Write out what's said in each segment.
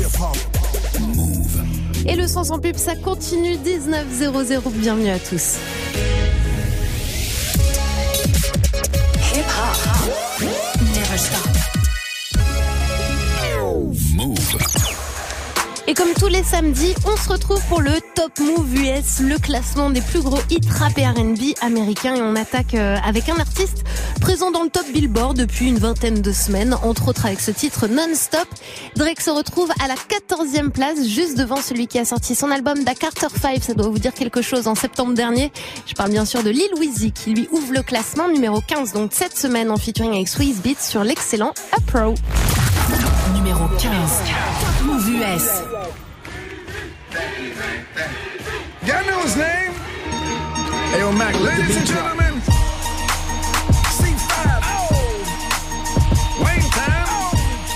Move. Et le son sans pub, ça continue 19:00. Bienvenue à tous. Hip hop. Never stop. Move. Et comme tous les samedis, on se retrouve pour le Top Move US, le classement des plus gros hits rap et R&B américains. Et on attaque avec un artiste présent dans le top Billboard depuis une vingtaine de semaines, entre autres avec ce titre Non-Stop. Drake se retrouve à la 14e place, juste devant celui qui a sorti son album Da Carter 5. Ça doit vous dire quelque chose en septembre dernier. Je parle bien sûr de Lil Weezy qui lui ouvre le classement numéro 15, donc cette semaine en featuring avec Swizz Beatz sur l'excellent Upro. Numéro 15. Top Move US. Y'all know his name? Hey, yo, Mac, ladies and gentlemen, C5. Oh. Wayne time.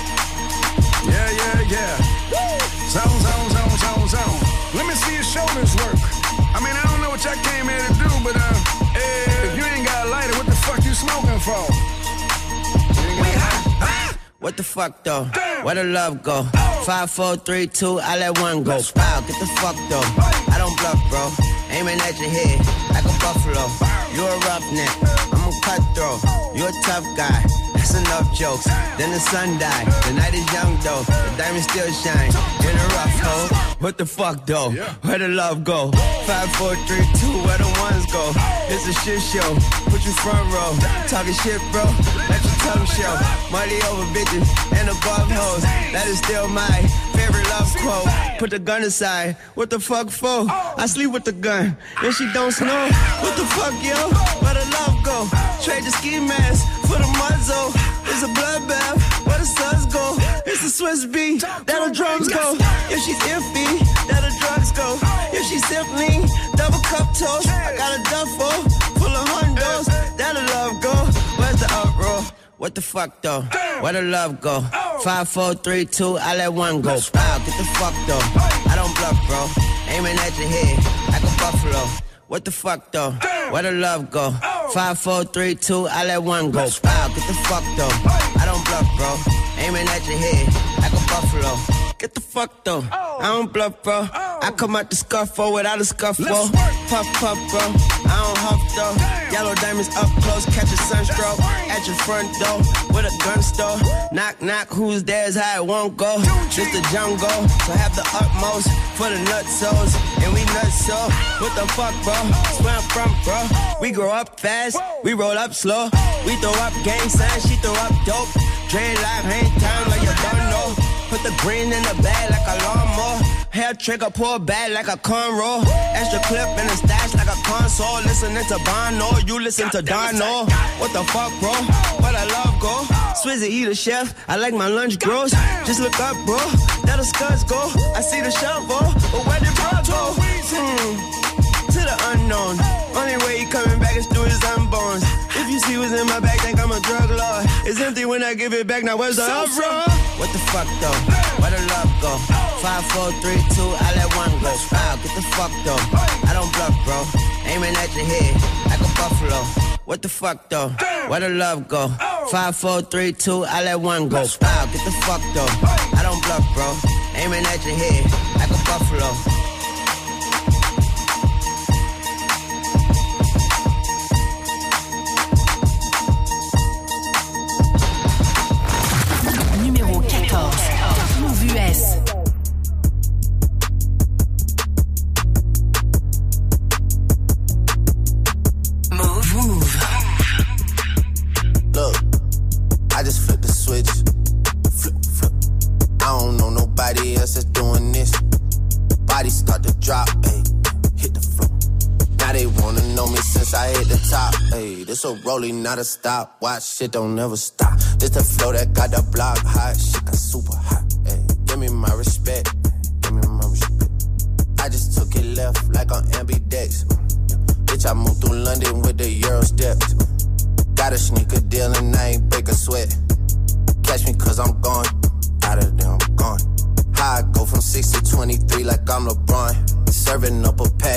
Yeah. Zone. Let me see your shoulders work. I mean, I don't know what y'all came here to do, but if you ain't got a lighter, what the fuck you smoking for? What the fuck though? Where the love go? 5, 4, 3, 2, I let one go. Wow, get the fuck though. I don't bluff, bro. Aiming at your head like a buffalo. You a roughneck, I'm a cutthroat. You a tough guy. That's enough jokes. Then the sun died. The night is young though. The diamond still shine in a rough hole. What the fuck though? Where the love go? 5, 4, 3, 2, where the ones go? It's a shit show. Put you front row. Talking shit, bro. Let your tongue show. Money over bitches and above hoes. That is still my favorite love quote. Put the gun aside. What the fuck for? I sleep with the gun and she don't snow. What the fuck, yo? Where the love go? Trade the ski mask for the muzzle. It's a bloodbath. Where the suns go? It's the Swiss beat. That the drums go. If she's iffy, that the drugs go. If she's simply double cup toast, I got a duffel full of hundos. That the love go. Where's the uproar? What the fuck though? Where the love go? 5, 4, 3, 2, I let one go. Wow, get the fuck though. I don't bluff, bro. Aiming at your head like a buffalo. What the fuck though? Where the love go? 5, 4, 3, 2, I let one go. Wow, get the fuck though. I don't bluff, bro. Aiming at your head like a buffalo. Get the fuck though. I don't bluff, bro. I come out the scuffle without a scuffle. Puff, puff, bro. I don't huff though. Yellow diamonds up close, catch a sunstroke. At your front door with a gun store. Knock, knock, who's there is how it won't go. It's the jungle, so have the utmost for the nutsos. And we nuts so. What the fuck, bro? Where I'm from, bro. We grow up fast, we roll up slow. We throw up gang signs, she throw up dope. Dreadlock, hang time like you don't know. Put the green in the bag like a lawnmower. Hair trigger, pull back like a cornrow. Extra clip in the stash like a console. Listening to Bono, you listen to Dono. What the fuck, bro? Where the love go? Swizzy eat a chef, I like my lunch gross. Just look up, bro, that the scuds go. I see the shovel, but where did bro go? To the unknown. Only way he coming back is through his unborns. If you see what's in my bag, think I'm a drug lord. It's empty when I give it back, now where's the uproar? What the fuck though? Where the love go? 5, 4, 3, 2, I let one go. Wow, get the fuck though. I don't bluff, bro. Aiming at your head like a buffalo. What the fuck though? Where the love go? 5, 4, 3, 2, I let one go. Wow, get the fuck though. I don't bluff, bro. Aiming at your head like a buffalo. Numéro 14. Top Move US. Move. Look, I just flipped the switch. Flip. I don't know nobody else that's doing this. Body start to drop, ayy, hit the floor. Now they wanna know me since I hit the top, ayy. This a rolling, not a stop. Watch, shit don't never stop. This the flow that got the block hot. Shit got super hot, ayy. Give me my respect, I just took it left like on ambidex. Bitch, I moved through London with the Euro steps. Got a sneaker deal and I ain't break a sweat. Catch me cause I'm gone, out of there I'm gone. How I go from 6 to 23 like I'm LeBron. Serving up a pack.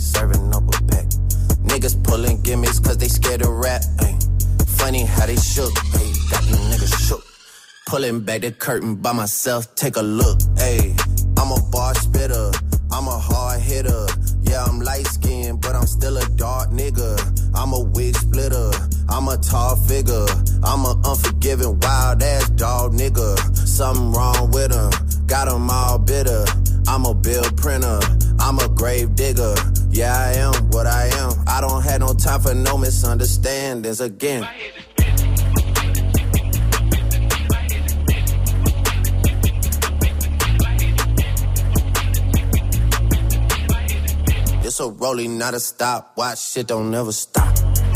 Niggas pulling gimmicks cause they scared to rap. Ay. Funny how they shook, ay. Got these niggas shook. Pulling back the curtain by myself, take a look. Ayy, I'm a bar spitter, I'm a hard hitter. Yeah, I'm light-skinned, but I'm still a dark nigga. I'm a wig splitter, I'm a tall figure. I'm a unforgiving, wild-ass dog nigga. Something wrong with him, got him all bitter. I'm a bill printer, I'm a grave digger. Yeah, I am what I am. I don't have no time for no misunderstandings again. It's a rolling, not a stop. Watch shit don't never stop.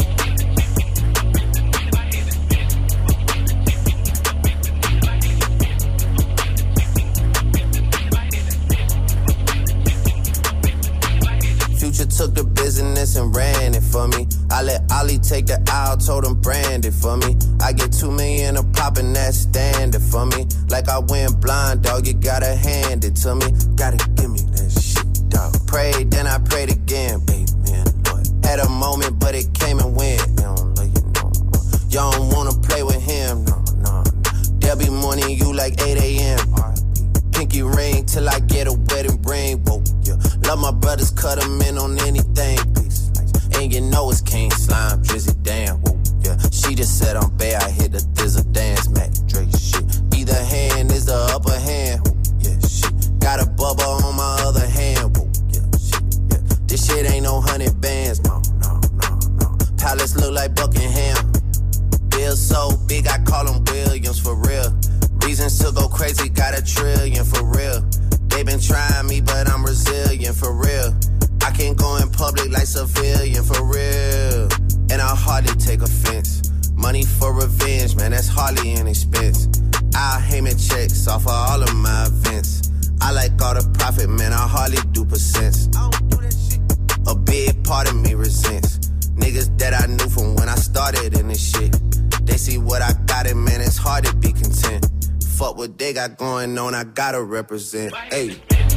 Future took the business and ran it for me. I let Ollie take the aisle, told him brand it for me. I get 2 million a pop and that's standard for me. Like I went blind, dog, you gotta hand it to me. Gotta give me that shit, dog. Prayed, then I prayed again, baby, Lord. Had a moment, but it came and went. You don't know, you know. You don't wanna play with him, no. There'll be morning you like 8 a.m. Pinky ring till I get a wedding ring, whoa, yeah. Love my brothers, cut them in on anything, please. And you know it's King Slime, Drizzy, damn, whoa, yeah. She just said I'm bad, I hit the thizzle dance, Mac Dre, shit. Either hand is the upper hand, whoa, yeah, shit. Got a bubble on my other hand, whoa, yeah, shit, yeah. This shit ain't no 100 bands, no. Palace look like Buckingham. Bill so big, I call him Williams, for real. Reasons to go crazy, got 1 trillion, for real. They been trying me, but I'm resilient, for real. I can't go in public like civilian, for real. And I hardly take offense. Money for revenge, man, that's hardly an expense. I'll Heyman checks off of all of my events. I like all the profit, man, I hardly do percents. I don't do that shit. A big part of me resents niggas that I knew from when I started in this shit. They see what I got, and man, it's hard to be content. Fuck what they got going on, I gotta represent. Ayy.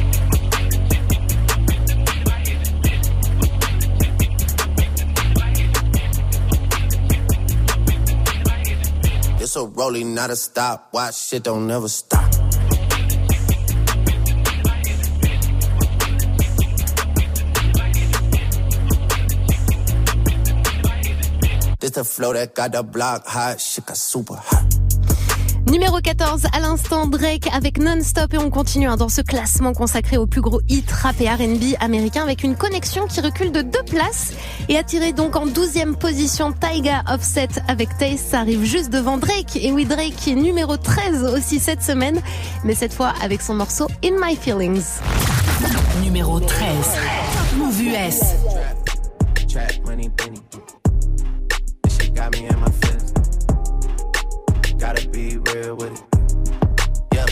It's a rolling, not a stop. Watch shit don't never stop. This the flow that got the block hot. Shit got super hot. Numéro 14, à l'instant, Drake avec Non-Stop, et on continue dans ce classement consacré aux plus gros hits rap et R&B américains avec une connexion qui recule de 2 places et attiré donc en 12e position Tyga Offset avec Taste. Ça arrive juste devant Drake. Et oui, Drake qui est numéro 13 aussi cette semaine, mais cette fois avec son morceau In My Feelings. Numéro 13, Move US. Trap money, penny. This shit got me in my feelings. Gotta be real with it. Yeah.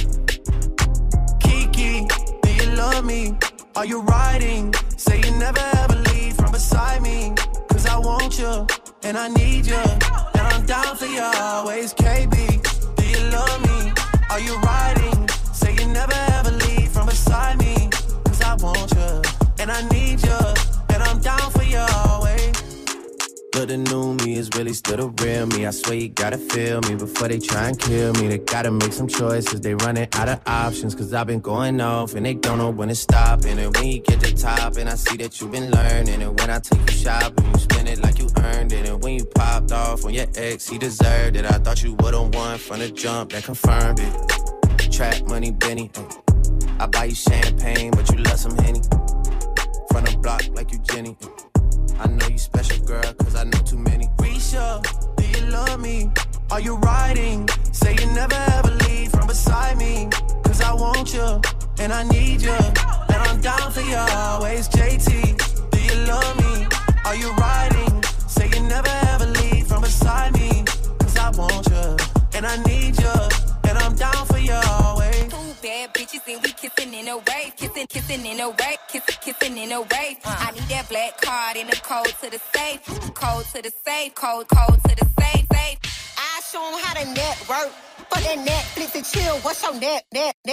Kiki, do you love me? Are you riding? Say you never ever leave from beside me. Cause I want you, and I need you. And I'm down for you always, KB. Do you love me? Are you riding? Say you never ever leave from beside me. Cause I want you, and I need you. And I'm down for you always. But the new me is really still the real me. I swear you gotta feel me before they try and kill me. They gotta make some choices, they running out of options. Cause I've been going off and they don't know when to stop. And when you get to top and I see that you've been learning. And when I take you shopping, you spend it like you earned it. And when you popped off on your ex, he deserved it. I thought you would've won from the jump, that confirmed it. Trap money, Benny. I buy you champagne, but you love some Henny. From the block like you Jenny. I know you special, girl, cause I know too many. Risha, do you love me? Are you riding? Say you never ever leave from beside me. Cause I want you, and I need you. And I'm down for you always, JT. Do you love me? Are you riding? Say you never ever leave from beside me. Cause I want you, and I need you. And I'm down for you always. Bad bitches and we kissing in a wave, kissing in a wave, kissing in a wave. I need that black card and the code to the safe, code to the safe, code to the safe. I show 'em how to network. For that Netflix and chill, what's your net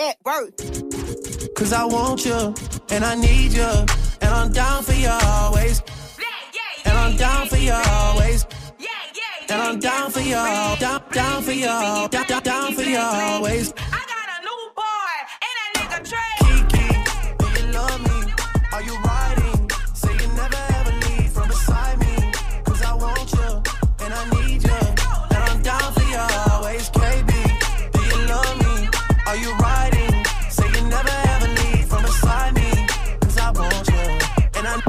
worth? Cause I want you, and I need you, and I'm down for you always. And I'm down for you always. and I'm down for you, down for you, down for you always. I got a new boy, and that nigga Trey. Kiki, do you love me? Are you riding? Say you never ever leave from beside me. 'Cause I want you, and I need you, and I'm down for you always. KB, do you love me? Are you riding? Say you never ever leave from beside me. 'Cause I want you, and I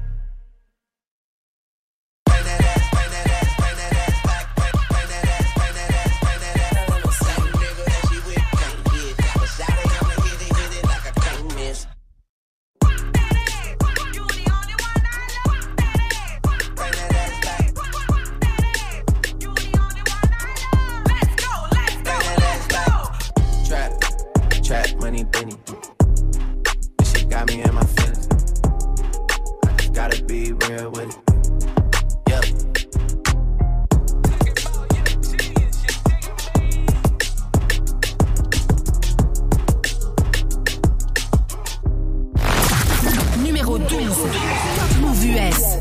money, Benny. This shit got me in my feelings. I just gotta be real with it. Yep. Numéro 12. Top Move US.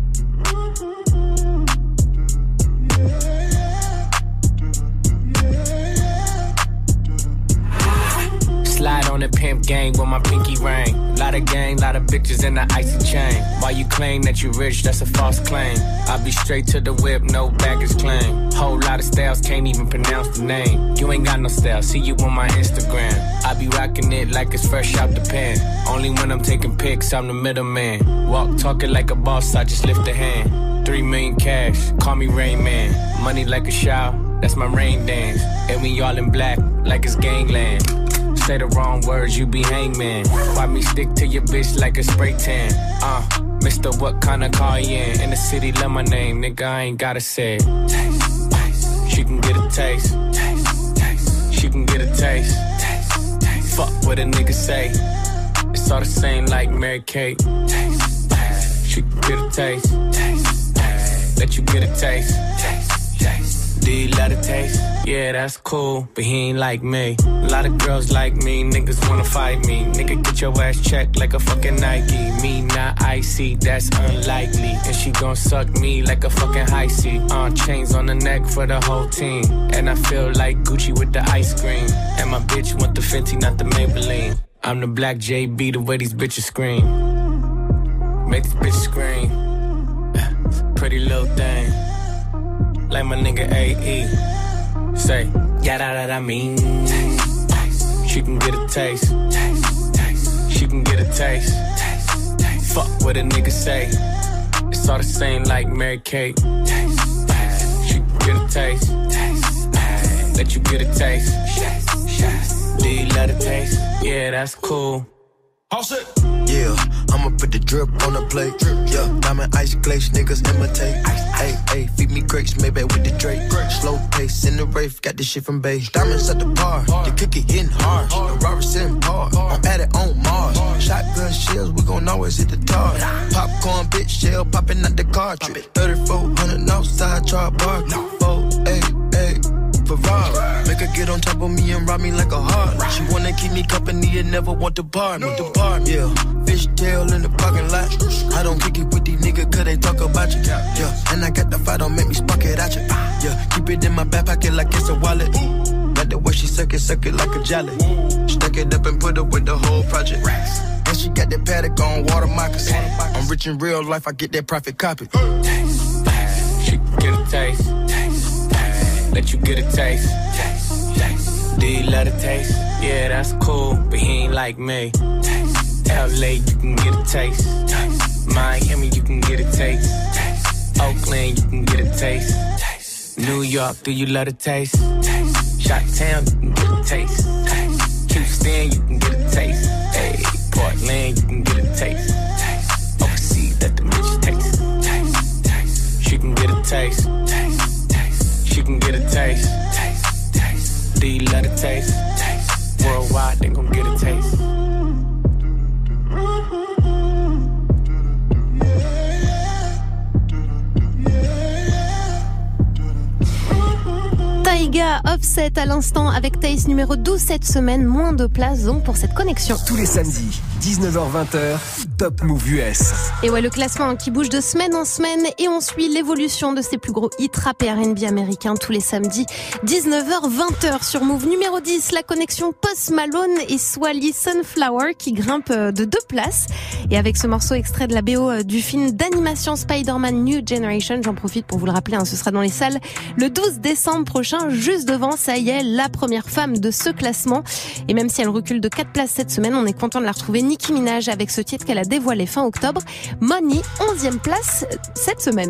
Slide on the pimp gang with my pinky ring. Lot of gang, lot of bitches in the icy chain. While you claim that you rich, that's a false claim. I be straight to the whip, no baggage claim. Whole lot of styles, can't even pronounce the name. You ain't got no style, see you on my Instagram. I be rocking it like it's fresh out the pan. Only when I'm taking pics, I'm the middleman. Walk talking like a boss, I just lift a hand. 3 million cash, call me Rain Man. Money like a shower, that's my rain dance. And we all in black, like it's gangland. Say the wrong words, you be hangman. Why me stick to your bitch like a spray tan? Mister, what kind of car you in the city, love my name, nigga, I ain't gotta say it. Taste, taste. She can get a taste. Taste, taste. She can get a taste. Taste, taste. Fuck what a nigga say. It's all the same like Mary Kate. Taste, taste. She can get a taste. Taste, taste. Let you get a taste. Taste, taste. Do you love the taste? Yeah, that's cool, but he ain't like me. A lot of girls like me, niggas wanna fight me. Nigga, get your ass checked like a fucking Nike. Me not icy, that's unlikely. And she gon' suck me like a fucking high C. Chains on the neck for the whole team. And I feel like Gucci with the ice cream. And my bitch want the Fenty, not the Maybelline. I'm the black JB, the way these bitches scream. Make these bitches scream. Pretty little thing. Like my nigga AE. Say, yeah, that I mean. Taste, taste. She can get a taste. Taste, taste. She can get a taste. Taste, taste. Fuck what a nigga say. It's all the same like Mary Kate. Taste, taste. She can get a taste. Taste, taste. Let you get a taste. Do you love the taste? Yeah, that's cool. All set. Yeah, I'ma put the drip on the plate. Yeah, diamond ice glaze, niggas imitate. Hey, hey, feed me grapes, maybe with the Drake. Slow pace in the rave, got this shit from Bay. Diamonds at the bar, the cookie hitting hard. The Robert sitting hard, I'm at it on Mars. Shotgun shells, we gon' always hit the tar. Popcorn, bitch, shell popping out the cartridge. 3400 outside, char bar. 488. Ferrari. Make her get on top of me and rob me like a heart. She wanna keep me company and never want to bar me. Yeah, fishtail in the parking lot. I don't kick it with these niggas cause they talk about you. Yeah, and I got the fight, don't make me spark it at you. Yeah, keep it in my back pocket like it's a wallet. Like the way she suck it like a jelly. Stuck it up and put up with the whole project. And she got that paddock on water moccasins. I'm rich in real life, I get that profit copy. Taste, taste. She can get a taste. Taste, taste. Let you get a taste. Taste, taste. Do you love the taste? Yeah, that's cool, but he ain't like me. Taste, LA, you can get a taste. Taste. Miami, you can get a taste. Taste. Oakland, you can get a taste. Taste. New York, do you love the taste? Taste. Chi-town, you can get a taste. Taste. Houston, you can get a taste. Hey, Portland, you can get a taste. Taste. Overseas, let the bitch taste. Taste. Taste. She can get a taste. Taste. Taste. She can get a taste. Taste. Taste. Do you love the taste? Taste. Worldwide, they gon' get a taste. Taiga Sia, Offset à l'instant avec Taste numéro 12 cette semaine. Moins de place donc pour cette connexion. Tous les samedis, 19h-20h, Top Move US. Et ouais, le classement qui bouge de semaine en semaine et on suit l'évolution de ces plus gros hits rap et R&B américains tous les samedis, 19h-20h sur Move. Numéro 10, la connexion Post Malone et Swally Sunflower qui grimpe de 2 places. Et avec ce morceau extrait de la BO du film d'animation Spider-Man New Generation, j'en profite pour vous le rappeler, ce sera dans les salles le 12 décembre prochain, juste devant, ça y est, la première femme de ce classement. Et même si elle recule de 4 places cette semaine, on est content de la retrouver, Nicki Minaj, avec ce titre qu'elle a dévoilé fin octobre. Money, 11e place cette semaine.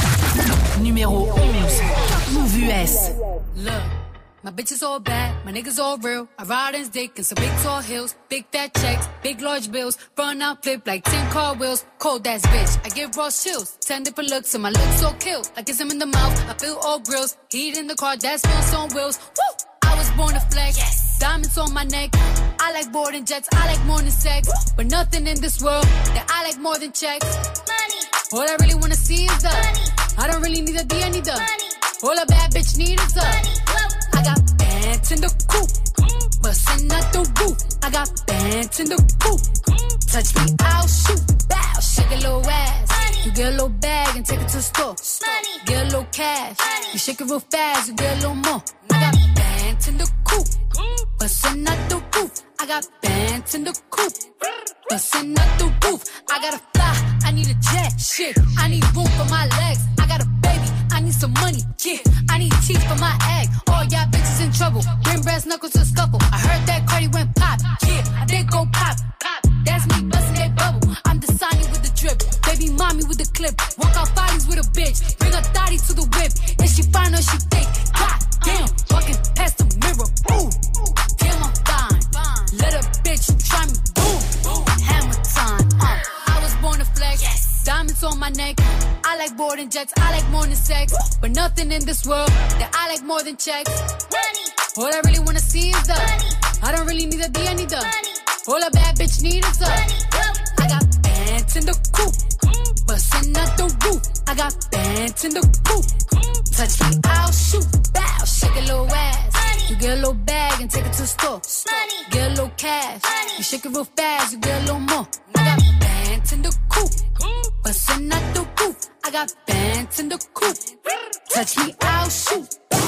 Numéro 11, Move US. Look, my bitch is all bad, my niggas all real. I ride in dick in some big tall hills, big fat checks, big large bills. Run out, flip like 10 car wheels. Cold ass bitch, I give raw chills. 10 different looks and my looks so kill. I kiss him in the mouth, I feel all grills. Heat in the car, that's wheels on wheels. Woo! I was born to flex, yes. Diamonds on my neck. I like boarding jets, I like more than sex. But nothing in this world that I like more than checks. Money. All I really wanna see is the money. I don't really need a D, I need the money. All a bad bitch need is the money. I got bands in the coupe, bustin' out the roof. I got bands in the coupe. Touch me, I'll shoot. Bow, shake a little ass. Money. You get a little bag and take it to the store. Money. Get a little cash. Money. You shake it real fast, you get a little more. I got bands in the coupe, bustin' out the roof. I got bands in the coupe, bustin' out the roof. I gotta fly, I need a jet. Shit, I need room for my legs. I got a baby, I need some money. Yeah, I need teeth for my egg. All y'all bitches in trouble. Bring brass knuckles to scuffle. I heard that Cardi went pop. Yeah, I did go pop. Pop. That's me bustin' that bubble. I'm the Sonny with the drip. Baby mommy with the clip. Walk out bodies with a bitch. Bring a thotty to the whip. If she fine or she thick. God damn, walking past the mirror. Ooh, damn I'm fine. Let a bitch try me. Boom, hammer time. I was born to flex. Yes. Diamonds on my neck. I like boarding jets. I like more than sex. But nothing in this world that I like more than checks. Money. All I really wanna see is the money. I don't really need a D, I need the money. All a bad bitch need is the money. I got bands in the coupe, bustin' out the roof. I got bands in the coupe. Touch me, I'll shoot. Bow, shake a little ass. Money. You get a little bag and take it to the store. Money. Get a little cash. Money. You shake it real fast, you get a little more. I got bands in the coupe, bustin' out the roof. I got bands in the coupe. Touch me, I'll shoot.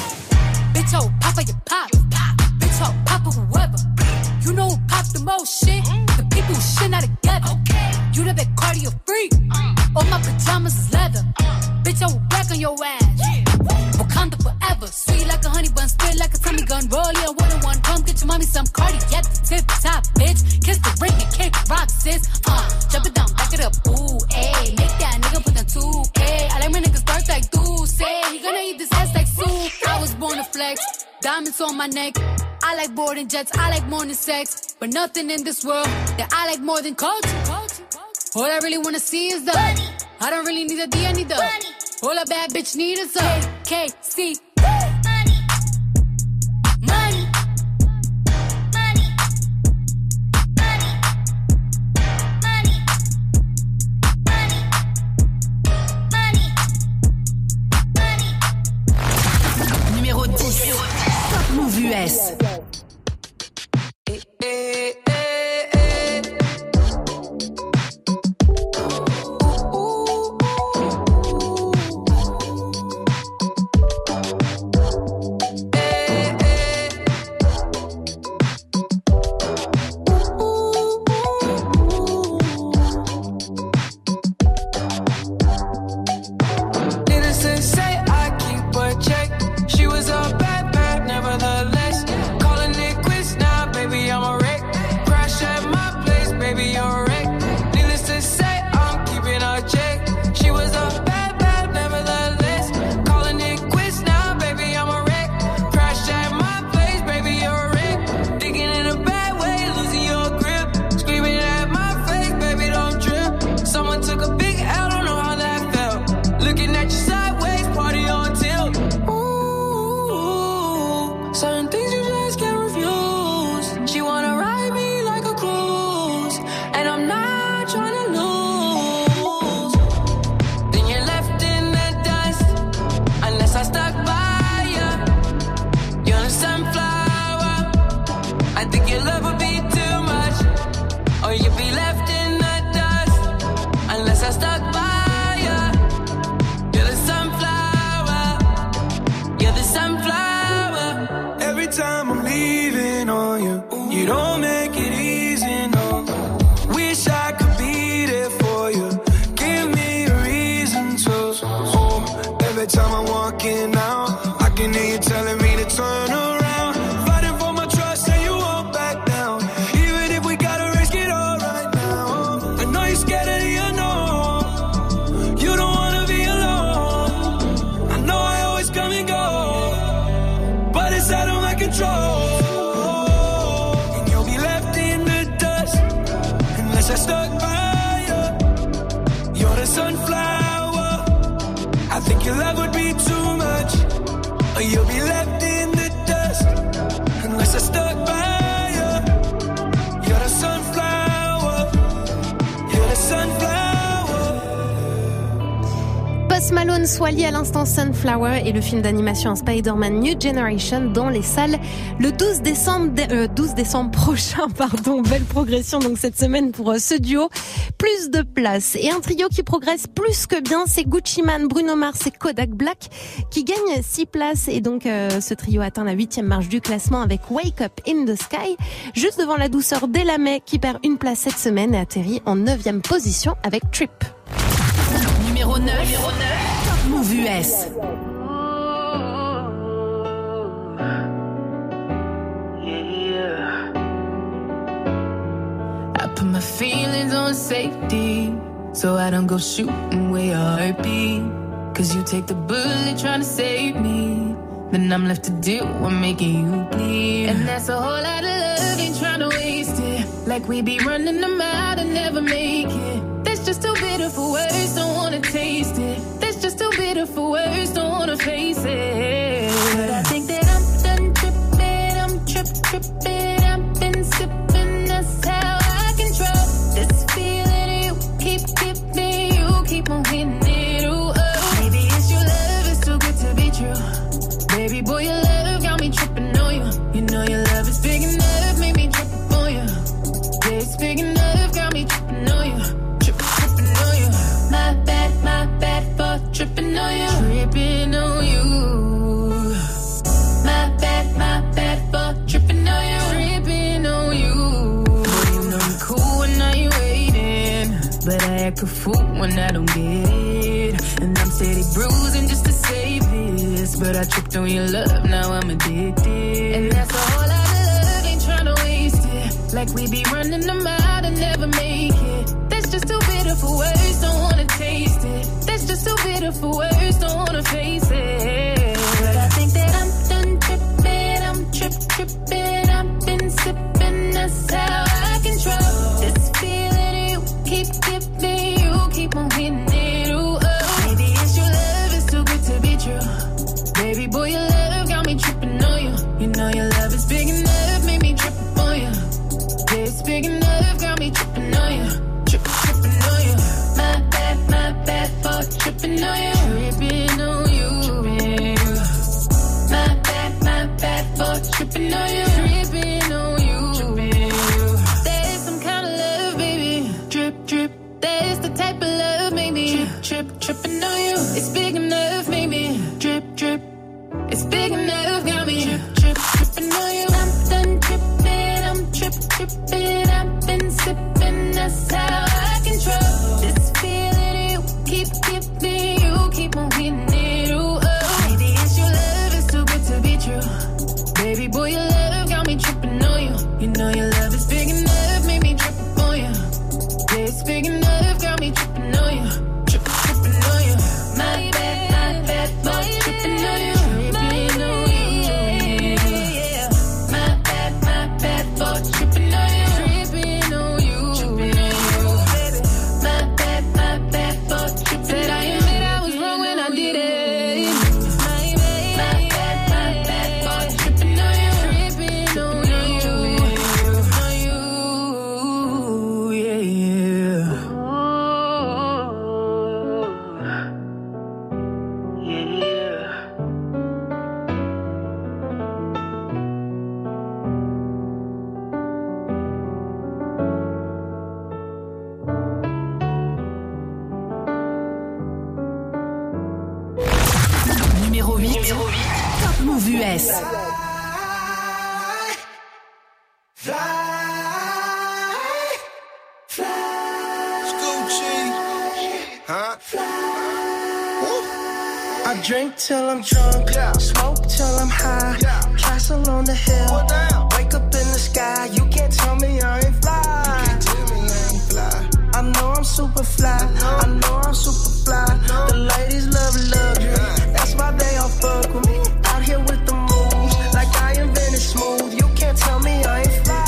Bitch, oh, papa, you pop. Bitch, oh, papa, whoever. You know who pop the most shit? The people who shit not together. You the big cardio freak. All my pajamas is leather. Bitch, I will back on your ass. Wakanda forever. Sweet like a honey bun, spit like a tummy gun. Roll ya, one on one. Come get your mommy some Cardi at the tip top, bitch. Kiss the ring and kick rock, sis. Jump it down, back it up. Ooh, ayy. Make that nigga put the 2K. I like my niggas dark like Deuce. He gonna eat this ass like soup. I was born to flex. Diamonds on my neck. I like boarding jets, I like more than sex. But nothing in this world that I like more than culture. All I really wanna see is the money. I don't really need a D, I need the money. All a bad bitch need is a KC. Money. Money. Money. Money. Money. Money. Money. Numéro 10, Top Move US. She was a bad, bad, nevertheless. Calling it quits now, baby, I'm a wreck. would be too much, or you'd be left in the dust. Unless I stuck by you. You're the sunflower. You're the sunflower. Every time I'm leaving on you, you don't make it easy, no. Wish I could be there for you. Give me a reason to. Every time I'm walking out, I can hear you telling me to turn around. Fighting for my trust and you won't back down. Even if we gotta risk it all right now. I know you're scared of the unknown. You don't wanna be alone. I know I always come and go, but it's out of my control. And you'll be left in the dust unless I stuck by you. You're the sunflower. I think your love would be too much, or you'll be left in the dust unless I stuck by you. You're the sunflower. You're the sunflower. Post Malone, Swally à l'instant Sunflower et le film d'animation Spider-Man New Generation dans les salles le 12 décembre prochain, pardon. Belle progression donc cette semaine pour ce duo. Plus de place et un trio qui progresse plus que bien, c'est Gucci Mane, Bruno Mars et Kodak Black qui gagnent 6 places et donc ce trio atteint la 8e marche du classement avec Wake Up in the Sky, juste devant la douceur d'Elamé qui perd une place cette semaine et atterrit en 9e position avec Trip. Numéro 9. Top Move US. I put my feelings on safety, so I don't go shooting where your heart beat. Cause you take the bullet trying to save me, then I'm left to deal with making you bleed. And that's a whole lot of love, ain't trying to waste it. Like we be running them out and never make it. That's just too bitter for words, don't wanna taste it. That's just too bitter for words, don't wanna face it. But I think that I'm done tripping, I'm tripping. I've been sipping, that's how I control this feeling you keep giving. You keep on hitting it, ooh, oh. Maybe it's your love, it's too good to be true. Baby boy, your love got me tripping on you. You know your love is big enough, made me trip on you. Yeah, it's big enough, got me tripping on you. Tripping on you. My bad for tripping on you. Tripping on you. My bad for tripping on you. Tripping on you. Boy, you know you cool when I ain't waiting, but I act a fool when I don't get it. And I'm steady bruising just to save this, but I tripped on your love, now I'm addicted. And that's a whole lot of love, ain't tryna waste it. Like we be running them out and never make it. That's just too bitter for words, don't wanna taste it. That's just too bitter for words, don't wanna face it. But I think that I'm done tripping, I'm tripping. I've been sipping, that's how I control this feeling you keep giving. You keep on hitting it, ooh, oh. Maybe it's your love, it's too good to be true. Baby boy, your love got me tripping on you. You know your love is big enough, made me trip on you. Yeah, it's big enough, got me tripping on you. Tripping on you. My bad for tripping on you. Tripping on you. My bad for tripping on you. Tripping on you. There's some kind of love, baby. Drip. There's the type of love, maybe. Tripping on you. It's big enough, maybe. Drip. It's big enough, got me. Tripping on you. I'm done tripping, I'm tripping. I've been sipping, that's how I control this feeling you keep giving. You keep on hitting it, ooh, oh. Maybe it's your love, it's too good to be true. Baby boy, your love got me tripping on you. You know your love is big enough, made me trip on you. Yeah, it's big enough, got me tripping on you. Tripping on you. My bad for tripping on you. Tripping on you. My bad for tripping on you. Tripping on you. My bad for tripping. Said I admit I was wrong when I did it. My bad for tripping on you. Tripping on you. Yeah. Move US. I drink till I'm drunk, smoke till I'm high, castle on the hill, wake up in the sky, you can't tell me I ain't fly. I know I'm super fly, I know I'm super fly, the ladies love luxury, that's why they all fuck with me, out here with the moves, like I invented smooth, you can't tell me I ain't fly.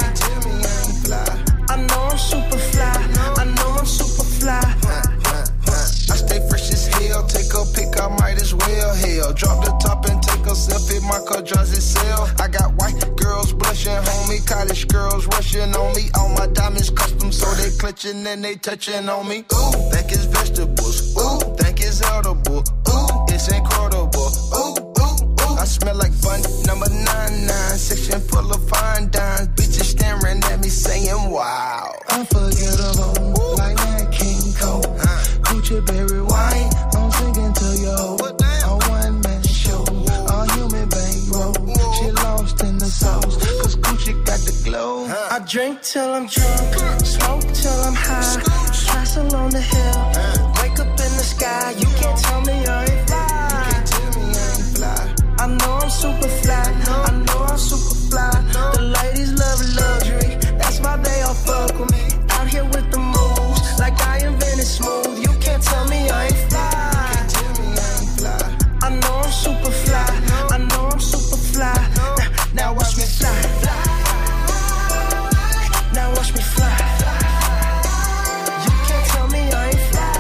I know I'm super fly, I know I'm super fly. I stay fresh as hell, take a pic, I might as well. Hell, drop the top and take a selfie, my car drives itself. I got white girls blushing, homie, college girls rushing on me. All my diamonds custom, so they clutching and they touching on me. Ooh, think it's vegetables. Ooh, think it's edible. Ooh, it's incredible. Ooh, ooh, ooh. I smell like bun number 99, section full of fine dimes. Bitches staring at me saying, wow. Unforgettable, like that King Cole. Gucci berry wine, I'm singing to yo. A one man show, a human bankroll. She lost in the sauce, cause Gucci got the glow. I drink till I'm drunk, smoke till I'm high, castle on the hill, wake up in the sky. You can't tell me I ain't fly. I know I'm super fly, I know I'm super fly. The ladies love luxury, that's why they all fuck with me. Out here with the moves, like I invented smooth. You can't tell me I ain't fly. I know I'm super fly, I know I'm super fly. Now watch me fly. Now watch me fly. You can't tell me I ain't fly.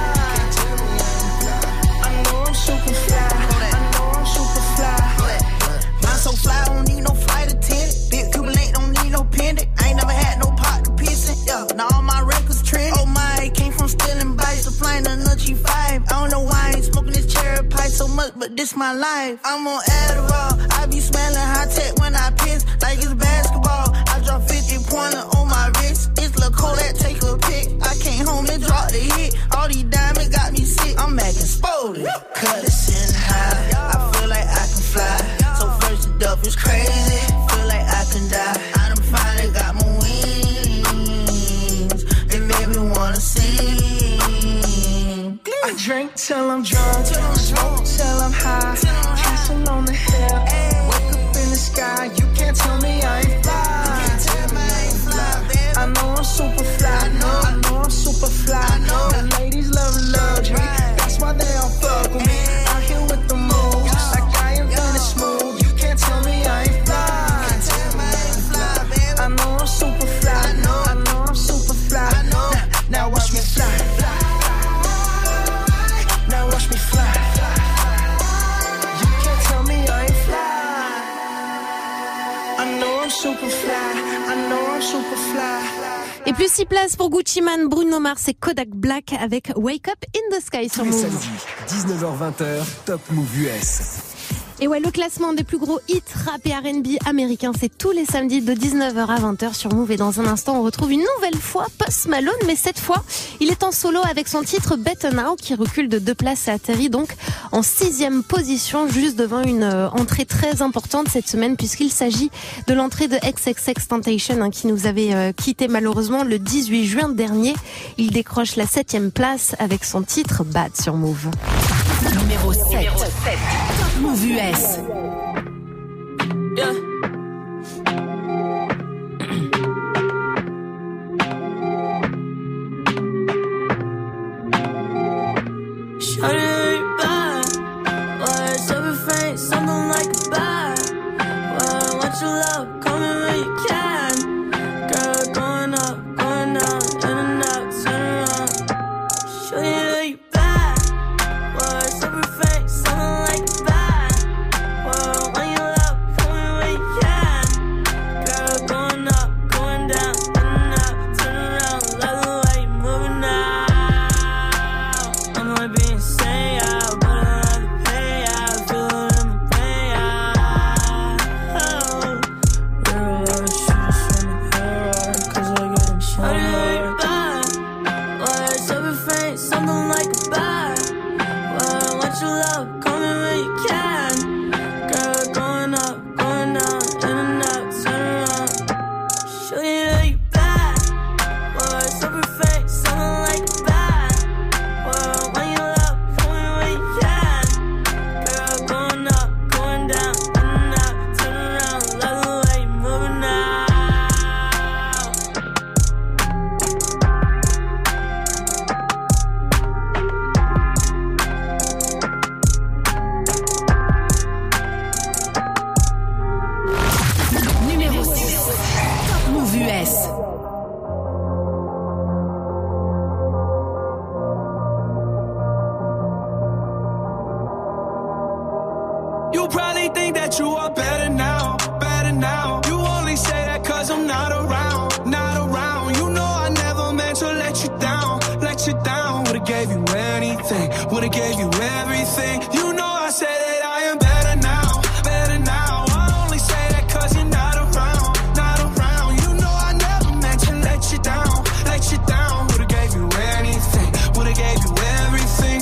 I know I'm super fly, I know I'm super fly. I'm so fly, I don't need no flight attendant. Big Cuban link, don't need no pendant. I ain't never had no pot to piss in. Yeah, now all my records trend. Oh my, came from stealing bikes to flying a nutty 5. I don't know why I ain't smoking this cherry pie so much, but this my life. I'm on Adderall, I be smelling high tech when I piss, like it's basketball. I drop 50 pointer on my wrist. It's Lil' Kodak, take a pic. I came home and dropped the hit. All these diamonds got me sick. I'm acting spoiled. Cut it sitting high. I feel like I can fly. So first the duff is crazy. Feel like I can die. I done finally got my wings. They made me wanna sing. I drink till I'm drunk, smoke till I'm high, castle on the hill, wake up in the sky. You can't tell me I ain't fly. I know I'm super fly, I know I'm super fly. The ladies love luxury, that's why they all fuck with me. Out here with the moves, like I invented smooth. You can't tell me I ain't fly. I know I'm super fly, I know I'm super fly. Now watch me fly. Now watch me fly. You can't tell me I ain't fly. I know I'm super fly, I know I'm super fly. Et plus 6 places pour Gucci Mane, Bruno Mars et Kodak Black avec Wake Up in the Sky sur Move. Samedi, 19h-20h, Top Move US. Et ouais, le classement des plus gros hits rap et R&B américains, c'est tous les samedis de 19h à 20h sur Move. Et dans un instant, on retrouve une nouvelle fois Post Malone, mais cette fois, il est en solo avec son titre Better Now, qui recule de 2 places et atterrit donc en 6e position, juste devant une entrée très importante cette semaine, puisqu'il s'agit de l'entrée de XXXTentacion, qui nous avait quitté malheureusement le 18 juin dernier. Il décroche la 7e place avec son titre Bad sur Move. Numéro 7. Top Move US. Yeah. Shawty, bad. Words every face, something like a bad. Well, what you love, call me when you can. Girl, going up, going down, in and out, turn around. Shawty, bad. Words every face, something like a bad. Well, when you love, call me when you can. Girl, going up, going down, in and out, turn around. Love the way you moving now. I might be insane, but I love the payout. Feel it in the payout. Real love shooters from the hair, 'cause I got them shawty bad. Words every face, something like a bad. Well, what you love, call me when you can. Girl, go US. You probably think that you are better now, better now. You only say that cause I'm not around, not around. You know I never meant to let you down, let you down. Would've gave you anything, would've gave you everything. You know I said that I am better now, better now. I only say that cause you're not around, not around. You know I never meant to let you down, let you down. Would've gave you anything, would've gave you everything.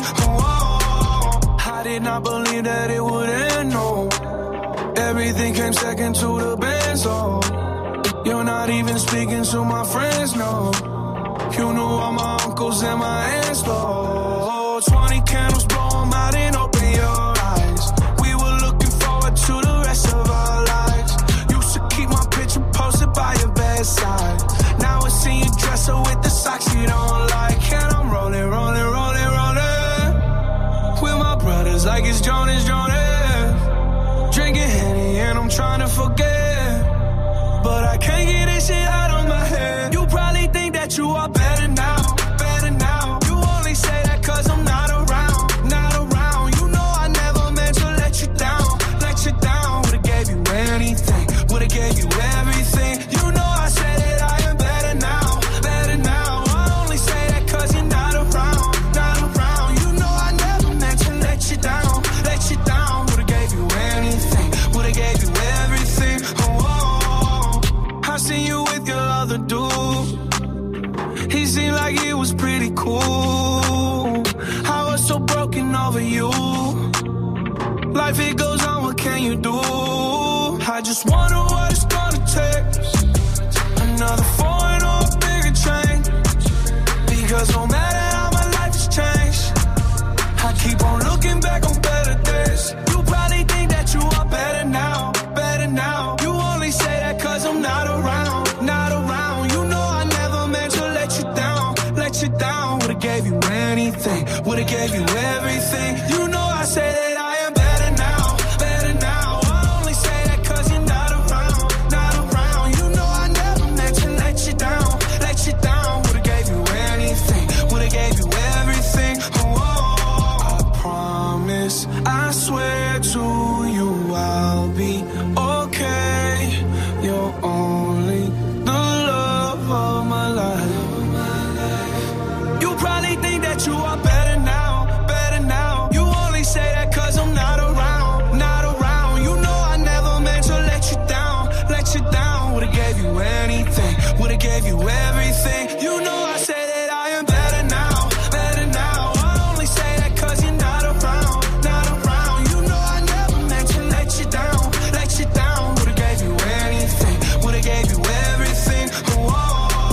Oh, I did not believe that it would end, no. Everything came second to the best, oh. You're not even speaking to my friends, no. You knew all my uncles and my aunts, oh. 20 candles, blow them out and open your eyes. We were looking forward to the rest of our lives. Used to keep my picture posted by your bedside. Now I see you dresser with the socks you don't like. And I'm rolling, rolling, rolling, rolling with my brothers like it's Jonas, Jonas. Drinking Henny and I'm trying to forget, but I can't get this shit out of my head. You probably think that you are better now, better now. You only say that cause I'm not around, not around. You know I never meant to let you down, let you down. Would've gave you anything, would've gave you everything. You know I said that I am better now, better now. I only say that cause you're not around, not around. You know I never meant to let you down, let you down. Would've gave you anything, would've gave you everything. Oh, I seen you with your other dude. He seemed like he was pretty cool. I was so broken over you. Life it goes on, what can you do? I just wonder what it's gonna take. Another foreign or a bigger change. Because no matter how my life has changed, I keep on looking back on better days. You probably think that you are better now, better now. You only say that cause I'm not around, not around. You know I never meant to let you down, let you down. Would've gave you anything, would've gave you everything. You know I say that I am better now, better now. I only say that cause you're not around, not around. You know I never meant to let you down, let you down. Would've gave you anything, would've gave you everything. Oh, I promise, I swear to you I'll be okay. You're only the love of my life. You probably think that you are better now, better now. You only say that cause I'm not around, not around. You know I never meant to let you down, let you down. Would've gave you anything, would've gave you everything. You know I say that I am better now, better now. I only say that cause you're not around, not around. You know I never meant to let you down, let you down. Would've gave you anything, would've gave you everything. Oh.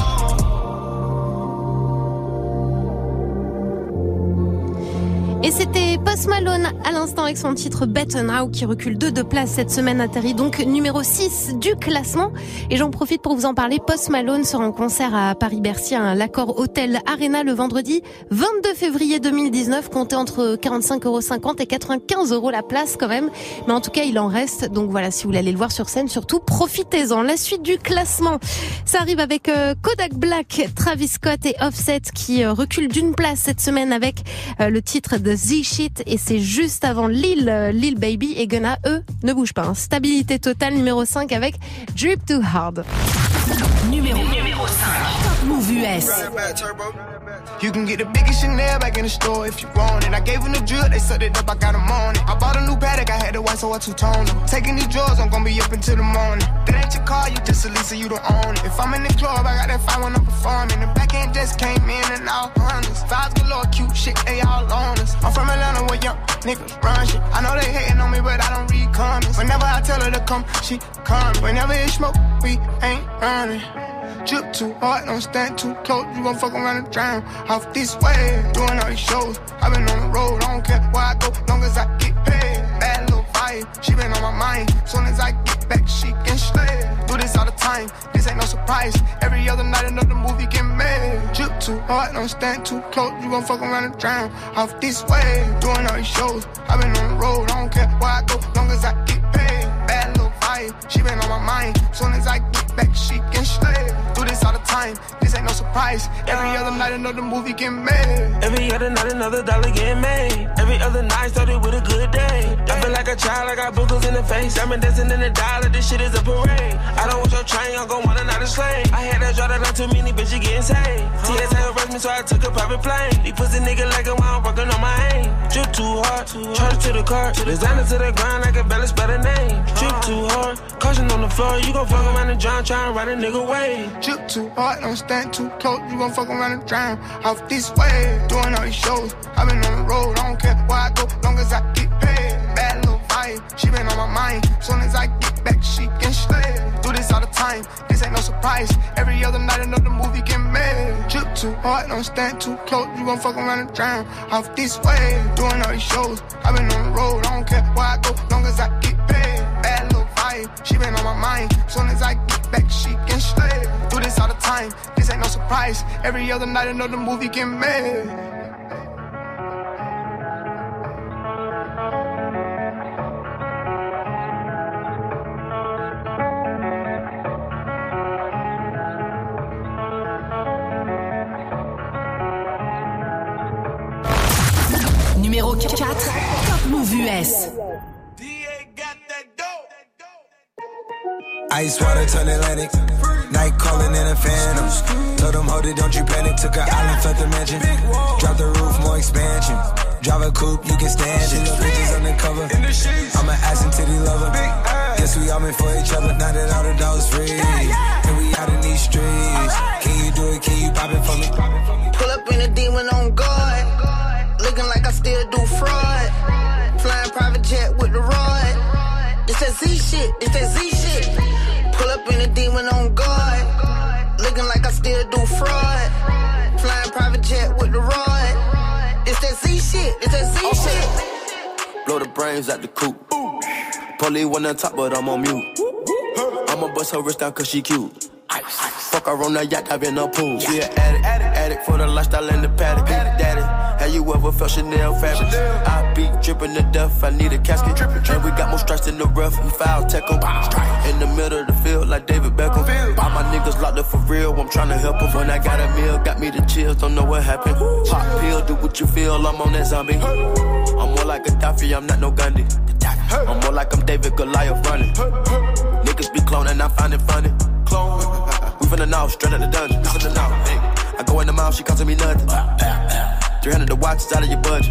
Et c'était Post Malone à l'instant avec son titre Better Now qui recule de 2 places cette semaine, atterrit donc numéro 6 du classement. Et j'en profite pour vous en parler. Post Malone sera en concert à Paris-Bercy à l'Accor Hotel Arena le vendredi 22 février 2019. Comptez entre 45,50 € et 95 € la place quand même. Mais en tout cas, il en reste. Donc voilà, si vous voulez aller le voir sur scène, surtout profitez-en. La suite du classement, ça arrive avec Kodak Black, Travis Scott et Offset qui reculent d'une place cette semaine avec le titre de The Shit, et c'est juste avant Lil Baby et Gunna. Eux ne bougent pas. Stabilité totale, numéro 5 avec Drip Too Hard. Numéro 5. Top Move US. You can get the biggest Chanel back in the store if you want it. I gave them the drill, they sucked it up, I got them on it. I bought a new Patek, I had the white, so I two-toned them. Taking these drugs, I'm gonna be up until the morning. That ain't your car, you just a Lisa, you don't own it. If I'm in the club, I got that fight when I'm performing. The back end just came in and all honest. Vibes galore, cute shit, they all on us. I'm from Atlanta where young niggas run shit. I know they hating on me, but I don't read comments. Whenever I tell her to come, she comes. Whenever it smoke, we ain't running. Drip too hard, don't stand too close. You gon' fuck around and drown off this way. Doing all these shows, I been on the road. I don't care where I go, long as I get paid. Bad little vibe, she been on my mind. Soon as I get back, she can slay. Do this all the time, this ain't no surprise. Every other night another movie get made. Drip too hard, don't stand too close. You gon' fuck around and drown off this way. Doing all these shows, I been on the road. I don't care where I go, long as I get paid. Bad little vibe, she been on my mind. Soon as I get back, she can slay. Do this all the time, this ain't no surprise. Every other night another movie get made. Every other night another dollar get made. Every other night started with a good day. I feel like a child, I got boogers in the face. I'm dancing in the dollar, this shit is a parade. I don't want your train, I'm gon' want another slave. I had that draw that on too many, bitches getting saved. TSA arrest me, so I took a private plane. These pussy nigga like it while I'm working on my aim. Drip too hard, charge it to the car. Designer to the ground, I can barely spell the name. Drip too hard, caution on the floor. You gon' fuck around and drown, try and ride a nigga way. Drip too hard, don't stand too close. You gon' fuck around and drown off this way. Doing all these shows, I been on the road. I don't care where I go, long as I get paid. Bad little vibe, she been on my mind. Soon as I get back, she can slay. Do this all the time, this ain't no surprise. Every other night another movie get made. Drip too hard, don't stand too close. You gon' fuck around and drown off this way. Doing all these shows, I been on the road. I don't care where I go, long as I get paid. Bad little vibe, she been on my mind. Soon as I get back, she can slay. Do this all the time, this ain't no surprise. Every other night another movie get made. Numéro 4, Top Move US. Ice water turn Atlantic. Night calling in a phantom. Told them, hold it, don't you panic. Took an island, left the mansion. Drop the roof, more expansion. Drive a coupe, you can stand it. Bitches undercover. I'm an ass and titty lover. Guess we all meant for each other. Now that all the dogs free. And we out in these streets. Can you do it? Can you pop it for me? Pull up in a demon on guard. Looking like I still do fraud. Flying private jet with the rod. It's that Z shit, it's that Z shit. Pull up in a demon on guard. Looking like I still do fraud. Flying private jet with the rod. It's that Z shit, it's that Z shit. Blow the brains out the coop. Polly one on top, but I'm on mute. I'ma bust her wrist down cause she cute. Fuck her on the yacht, I've been in a pool. She an addict for the lifestyle and the paddock. Daddy, have you ever felt Chanel fabric? I be dripping to death, I need a casket. And we got more strikes in the rough, we foul tech em. In the middle of the field like David Beckham. All my niggas locked up for real, I'm tryna help them. When I got a meal, got me the chills, don't know what happened. Pop pill, do what you feel, I'm on that zombie. I'm more like Gaddafi, I'm not no Gandhi. I'm more like I'm David Goliath running. Niggas be cloning, I find it funny. Clone. We finna know, straight out the dungeon. We finna know. Hey. I go in the mouth, she costing me nothing. 300 the watch, it's out of your budget.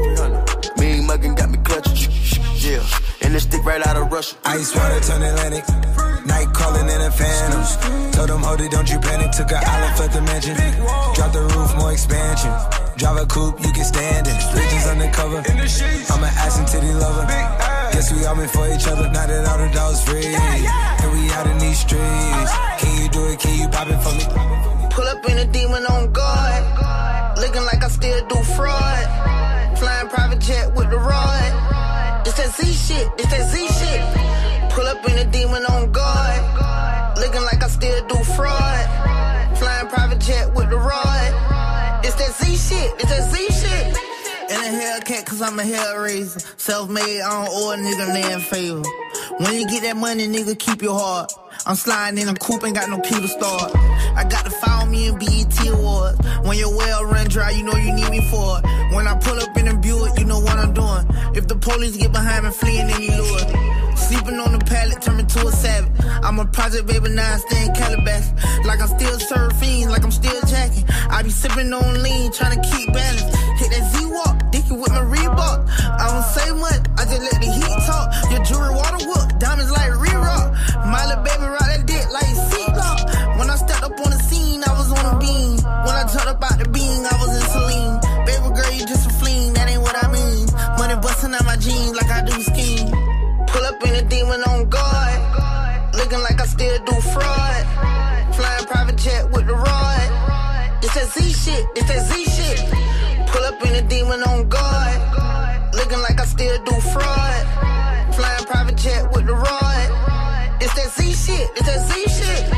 300. Mean muggin' got me clutching. Yeah, and this stick right out of Russia. Ice water turn Atlantic. Night calling in a phantom. Told them, hold it, don't you panic. Took an island, left the mansion. Drop the roof, more expansion. Drive a coupe, you can stand it. Bridges undercover. I'm an ass and titty lover. Guess we all meant for each other. Now that all the dogs free. And we out in these streets. Can you do it? Can you pop it for me? Pull up in a demon on guard. Looking like I still do fraud. Flying private jet with the rod. It's that Z shit, it's that Z shit. Pull up in a demon on guard. Looking like I still do fraud. Flying private jet with the rod. It's that Z shit, it's that Z shit. In a Hellcat cause I'm a hellraiser. Self-made, I don't owe a nigga land favor. When you get that money, nigga, keep your heart. I'm sliding in a coupe, ain't got no key to start. I got to follow me in BET Awards. When your well run dry, you know you need me for it. When I pull up in a Buick, you know what I'm doing. If the police get behind me, fleeing any lure. Sleeping on the pallet, turn me to a savage. I'm a project baby, now I stay in Calabasas. Like I'm still surfing, like I'm still jacking. I be sipping on lean, trying to keep balance. Hit that Z-Walk, dicky with my Reebok. I don't say much, I just let the heat talk. Your jewelry water whoop, diamonds like re-rock. My little baby ride that dick like seatlock. When I stepped up on the scene, I was on a beam. When I jumped up out the beam, I was in Celine. Baby girl, you just a fleen, that ain't what I mean. Money busting out my jeans like I do scheme. Pull up in a demon on guard. Looking like I still do fraud. Flying private jet with the rod. It's that Z shit, it's that Z shit. Pull up in a demon on guard. Looking like I still do fraud. Flying private jet with the rod. It's that Z shit, it's that Z shit.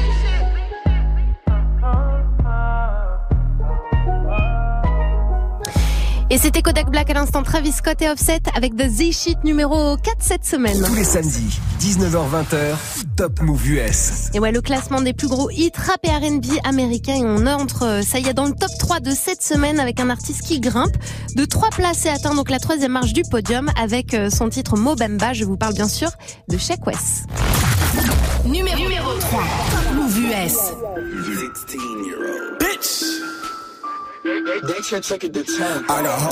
Et c'était Kodak Black à l'instant, Travis Scott et Offset avec The Z-Shit numéro 4 cette semaine. Tous les samedis, 19h-20h, Top Move US. Et ouais, le classement des plus gros hits rap et R&B américains. Et on entre, ça y est, dans le top 3 de cette semaine avec un artiste qui grimpe de 3 places et atteint donc la 3e marche du podium avec son titre Mo Bamba. Je vous parle bien sûr de Sheck Wes. Numéro 3, Top Move US. 16-year-old bitch. They check it to 10. I got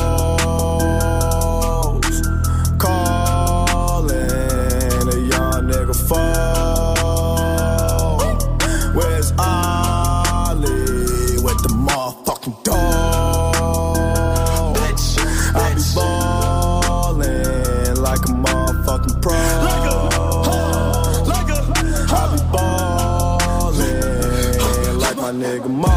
hoes calling a young nigga phone. Where's Ollie with the motherfucking dog? Bitch, I be ballin' like a motherfucking pro. I be ballin' like my nigga Mo.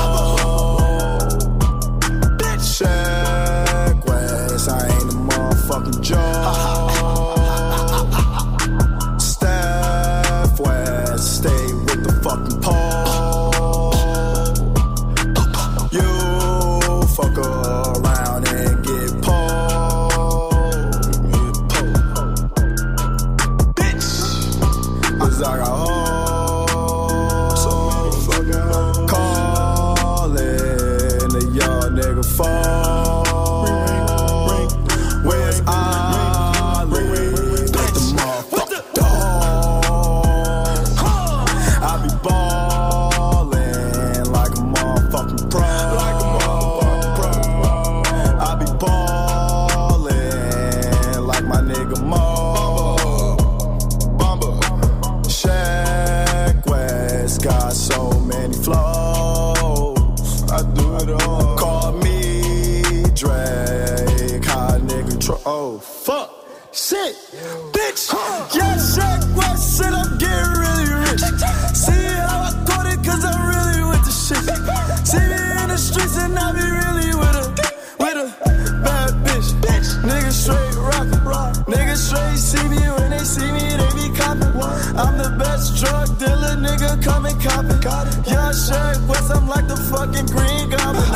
Sheck Wes, I ain't a motherfucking joke. Steph West, stay with the fucking pole. You fuck around and get pulled. Bitch, 'cause I got hoes calling a young nigga phone. Oh, fuck, shit, bitch, yeah, Sheck Wes said I'm getting really rich. See how I caught it, 'cause I'm really with the shit. See me in the streets and I be really with a bad bitch. Niggas straight rockin', niggas straight see me when they see me, they be coppin'. I'm the best drug dealer, nigga, come and coppin'. Yeah, Sheck Wes, I'm like the fucking Green Goblin.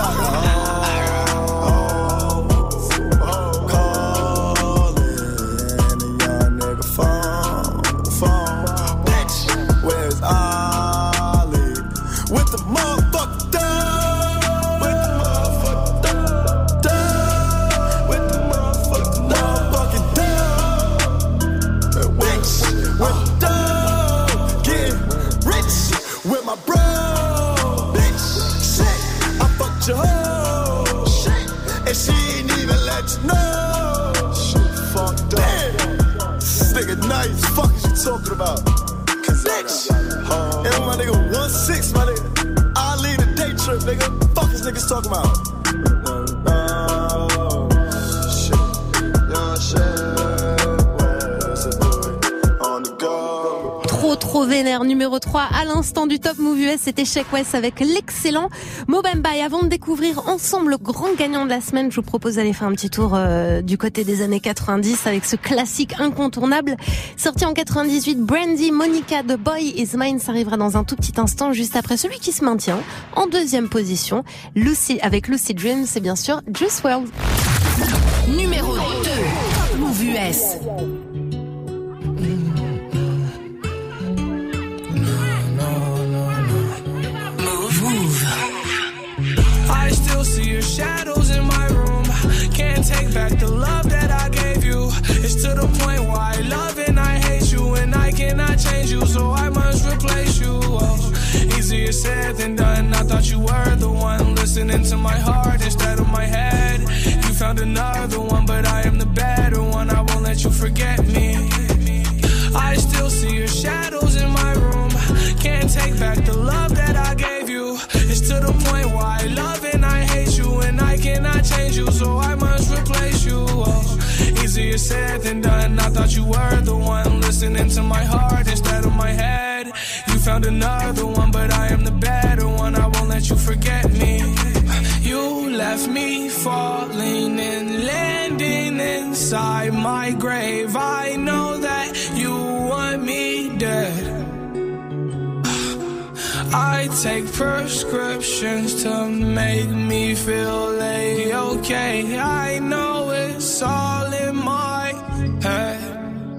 Talking about, bitch, and my nigga 1-6, my nigga, I lead a day trip, nigga. Fuck is niggas talking about? Trop vénère, numéro 3 à l'instant du Top Move US, c'était Sheck Wes avec l'excellent Mo Bamba. Et avant de découvrir ensemble le grand gagnant de la semaine, je vous propose d'aller faire un petit tour du côté des années 90 avec ce classique incontournable sorti en 98, Brandy Monica, The Boy Is Mine. Ça arrivera dans un tout petit instant, juste après celui qui se maintient en 2e position, avec Lucid Dream, c'est bien sûr Juice WRLD. Numéro 2, Top Move US. I still see your shadows in my room. Can't take back the love that I gave you. It's to the point where I love and I hate you, and I cannot change you, so I must replace you. Oh, easier said than done. I thought you were the one listening to my heart instead of my head. You found another one, but I am the better one. I won't let you forget me. I still see your shadows in my room. Can't take back the love that I gave you. It's to the point where I love and I hate you, and I cannot change you, so I must replace you. Oh, easier said than done. I thought you were the one listening to my heart instead of my head. You found another one, but I am the better one. I won't let you forget me. You left me falling and landing inside my grave. I know that you want me dead. I take prescriptions to make me feel okay. I know it's all in my head.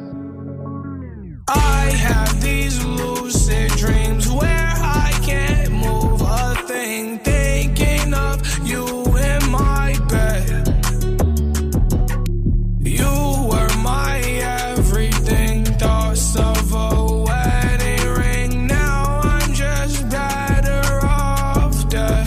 I have these lucid dreams where I can't move a thing, thinking of you in my bed. You were my everything, thoughts of a wedding ring. Now I'm just better off dead.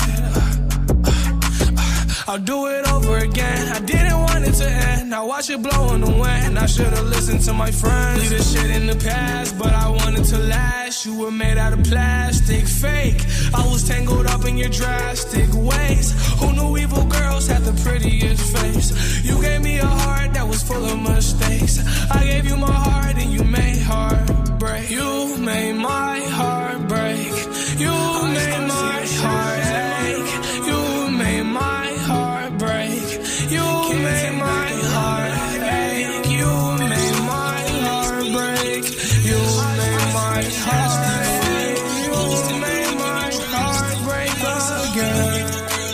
I'll do it over again. I didn't want it to end. Now watch it blow in the wind. I should've listened to my friends. Leave this shit in the past, but I wanted to last. You were made out of plastic, fake. I was tangled up in your drastic ways. Who knew evil girls had the prettiest face? You gave me a heart that was full of mistakes. I gave you my heart and you made heartbreak. You made my heart break. You made my heart ache. You made my heart break. You made my heart ache. You made my heart break. You made my heart ache. You made my heart break again.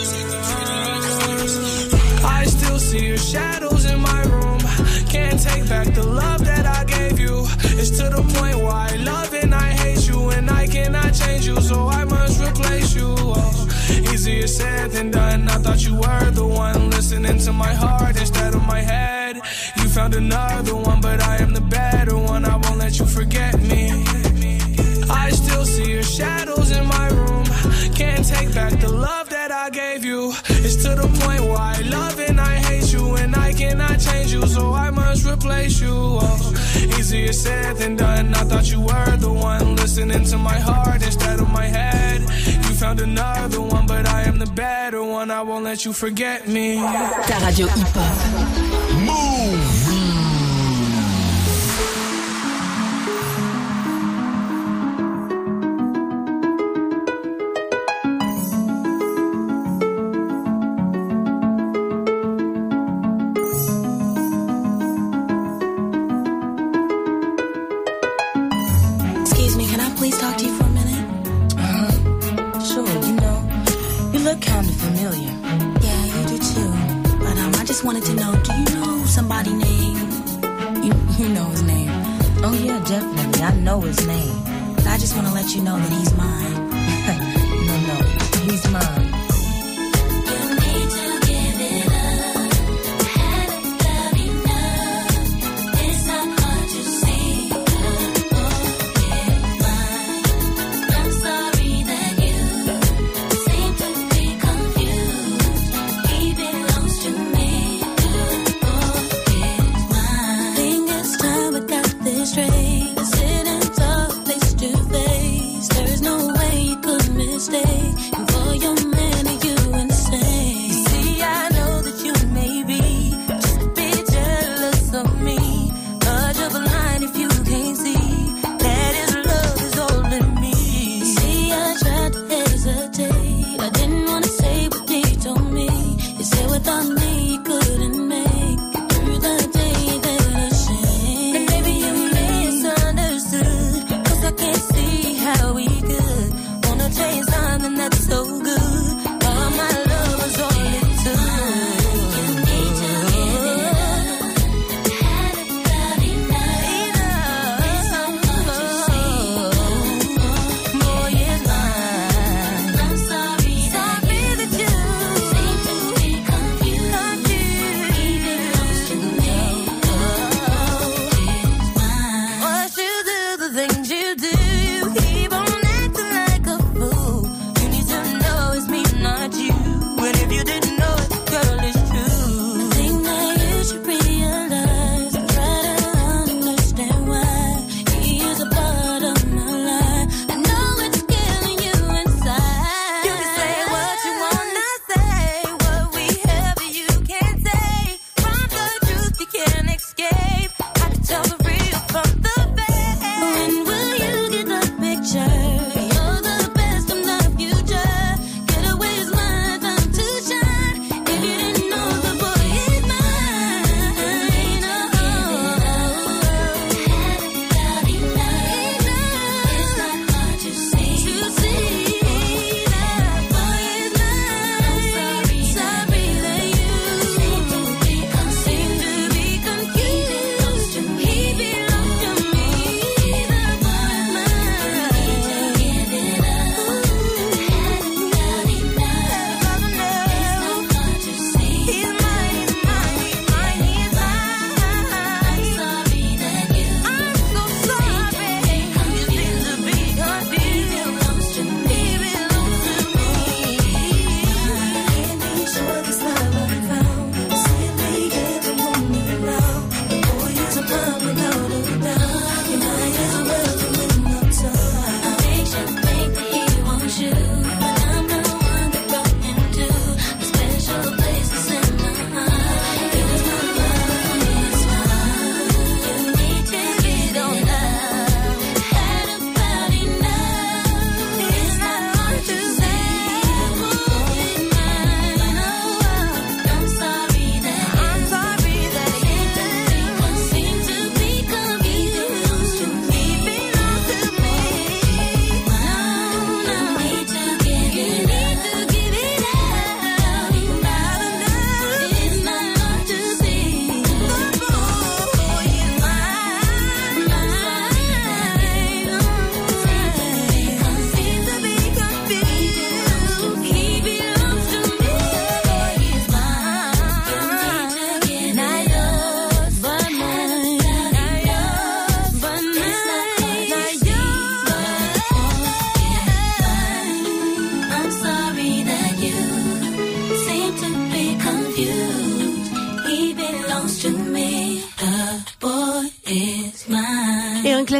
I still see your shadows in my room. Can't take back the love that I gave you. It's to the point where I love and I hate you, and I cannot change you, so I must replace you. Oh, easier said than done. I thought you were the one listening to my heart instead of my head. You found another one, but I am the better one. I won't let you forget me. I still see your shadows in my room. Can't take back the love that I gave you. It's to the point where I love and I hate you, and I cannot change you, so I must replace you. Oh, easier said than done. I thought you were the one listening to my heart instead of my head. You found another one, but I am the better one. I won't let you forget me. Ta radio hip-hop. Move! Wanted to know, do you know somebody named, you know his name? Oh yeah, definitely, I know his name. But I just want to let you know that he's mine. No, he's mine. Straight, sitting so face to face. There's no way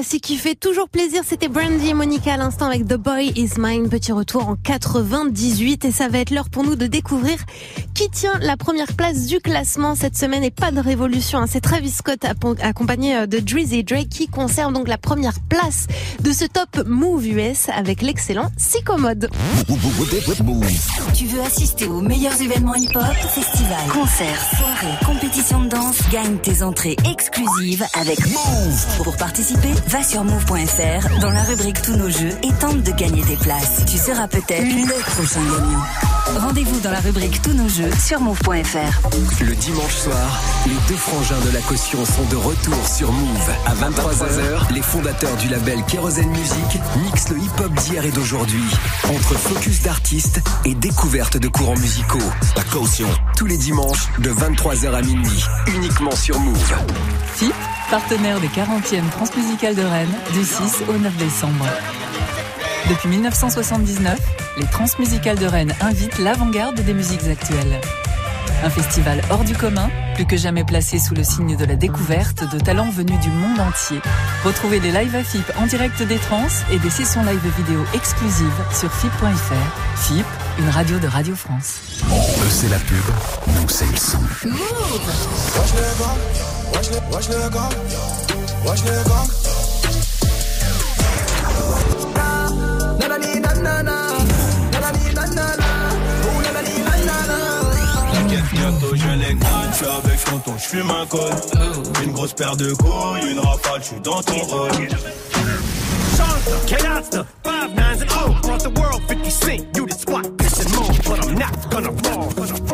classique qui fait toujours plaisir. C'était Brandy et Monica à l'instant avec The Boy Is Mine. Petit retour en 98 et ça va être l'heure pour nous de découvrir qui tient la première place du classement cette semaine. Et pas de révolution, c'est Travis Scott accompagné de Drizzy Drake qui conserve donc la première place de ce Top Move US avec l'excellent Psychomode. Tu veux assister aux meilleurs événements hip-hop, festivals, concerts, soirées, compétitions de danse? Gagne tes entrées exclusives avec Move. Pour participer, va sur move.fr dans la rubrique Tous nos jeux et tente de gagner tes places. Tu seras peut-être le prochain gagnant. Rendez-vous dans la rubrique Tous nos jeux sur move.fr. Le dimanche soir, les deux frangins de la caution sont de retour sur Move. À 23h, les fondateurs du label Kérosène Music mixent le hip-hop d'hier et d'aujourd'hui. Entre focus d'artistes et découverte de courants musicaux. La caution, tous les dimanches de 23h à minuit, uniquement sur Move. FIP, partenaire des 40e Transmusicales de Rennes, du 6 au 9 décembre. Depuis 1979, les Transmusicales de Rennes invitent l'avant-garde des musiques actuelles. Un festival hors du commun, plus que jamais placé sous le signe de la découverte de talents venus du monde entier. Retrouvez les lives à FIP en direct des trans et des sessions live vidéo exclusives sur FIP.fr. FIP, une radio de Radio France. Eux c'est la pub, nous c'est le son. Watch le gang, watch le gang. Bientôt je les gagne, je suis avec tonton, je fume un col. Une grosse paire de couilles, une rafale, je suis dans ton rôle. K-Monster, 5 9s and 0 across the world, 50 Cent, you the spot, piss and moan, but I'm not gonna fall.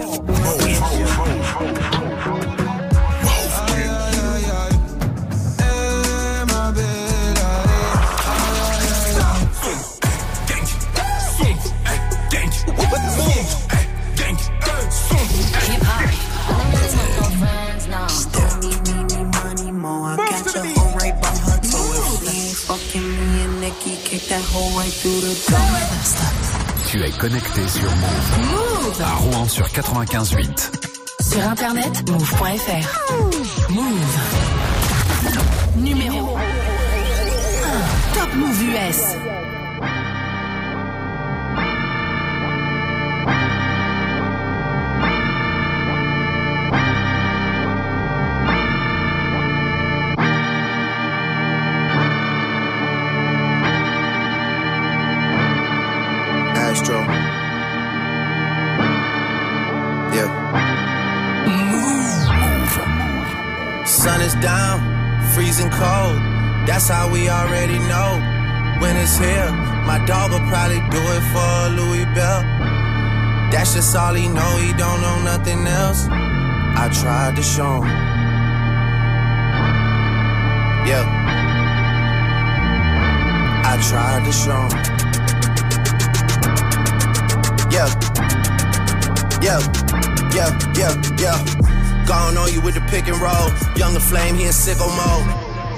Tu es connecté sur Move. À Rouen sur 95.8. Sur internet, move.fr. Move. Numéro 1. Top Move US. Sun is down, freezing cold. That's how we already know. When it's here, my dog will probably do it for Louis Bell. That's just all he know, he don't know nothing else. I tried to show him. Yeah. I tried to show him. Yeah. Yeah. Yeah. Yeah. Yeah. Gone on you with the pick and roll. Younger flame, he in sicko mode.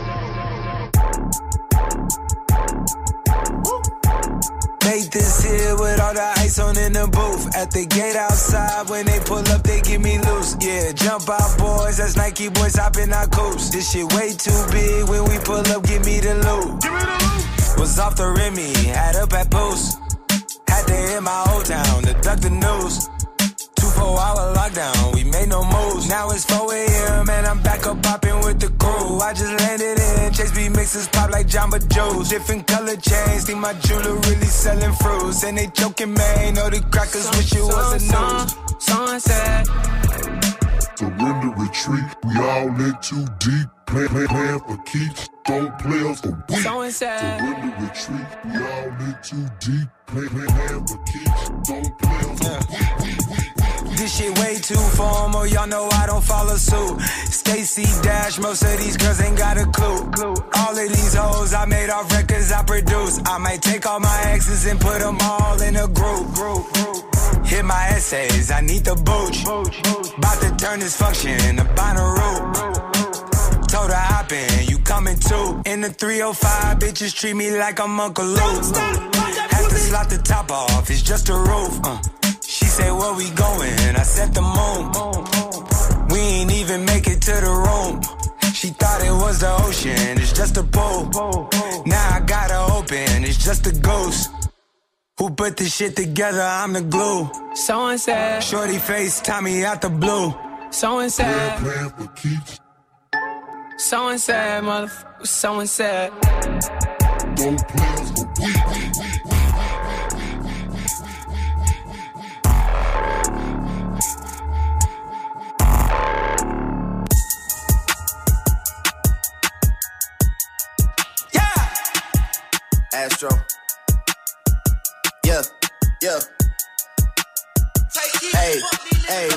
Made this here with all the ice on in the booth. At the gate outside, when they pull up, they give me loose. Yeah, jump out, boys. That's Nike boys hopping our coops. This shit way too big. When we pull up, give me the loot. Was off the Remy, had up at Boost. Had to hit my old town to duck the news. 2-4-hour lockdown, we made no moves. Now it's 4 a.m. and I'm back up popping with the crew. I just landed in Chase B mixes pop like Jamba Joe's. Different color chains, think my jeweler really selling fruits. And they joking, man, know the crackers wish it was a news. Sunset. Surrender, retreat, we all in too deep. Plan for keeps, don't play us for weak. Surrender, retreat, we all in too deep. Plan for keeps, don't play us for weak. This shit way too formal, y'all know I don't follow suit. Stacy Dash, most of these girls ain't got a clue. All of these hoes I made off records I produce. I might take all my exes and put them all in a group. Hit my essays, I need the booch. About to turn this function into Bonnaroo. Told her hop in, you coming too. In the 305, bitches treat me like I'm Uncle Luke. Have to slot the top off, it's just a roof. She said, where we going? I said the moon. We ain't even make it to the room. She thought it was the ocean, it's just a pool. Now I got her open, it's just a ghost. Who put this shit together? I'm the glue. Someone said, shorty face, Tommy out the blue. Someone said, someone said, motherfucker, someone said. Don't play us for weak. Astro. Yeah, yeah. Hey, hey.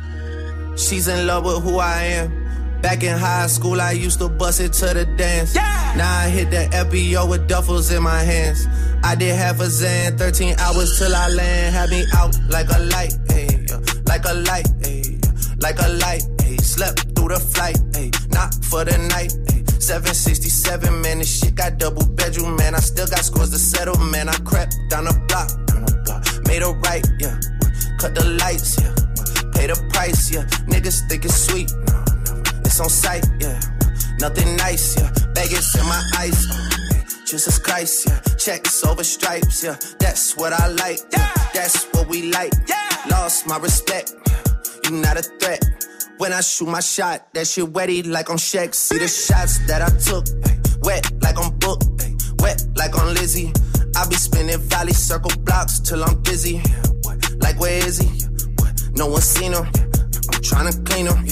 She's in love with who I am. Back in high school, I used to bust it to the dance. Yeah. Now I hit the FBO with duffels in my hands. I did half a Zan, 13 hours till I land. Had me out like a light, hey, like a light, hey, like a light, hey. Slept through the flight, hey, not for the night, hey. 767, man, this shit got double bedroom, man. I still got scores to settle, man. I crept down the block, made a right, yeah. Cut the lights, yeah. Pay the price, yeah. Niggas think it's sweet, no, it's on sight, yeah. Nothing nice, yeah. Baggage in my ice, Jesus Christ, yeah. Checks over stripes, yeah. That's what I like, yeah. That's what we like, yeah. Lost my respect, you not a threat. When I shoot my shot, that shit wetty like on Shaq. See the shots that I took, ay, wet like on Book, ay, wet like on Lizzie. I be spinning valley circle blocks till I'm dizzy. Like where is he? No one seen him. I'm tryna clean him.